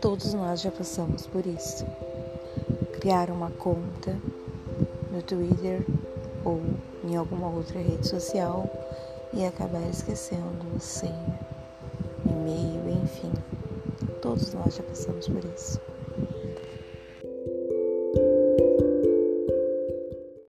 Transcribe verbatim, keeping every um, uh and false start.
Todos nós já passamos por isso. Criar uma conta no Twitter ou em alguma outra rede social e acabar esquecendo a senha, e-mail, enfim. Todos nós já passamos por isso.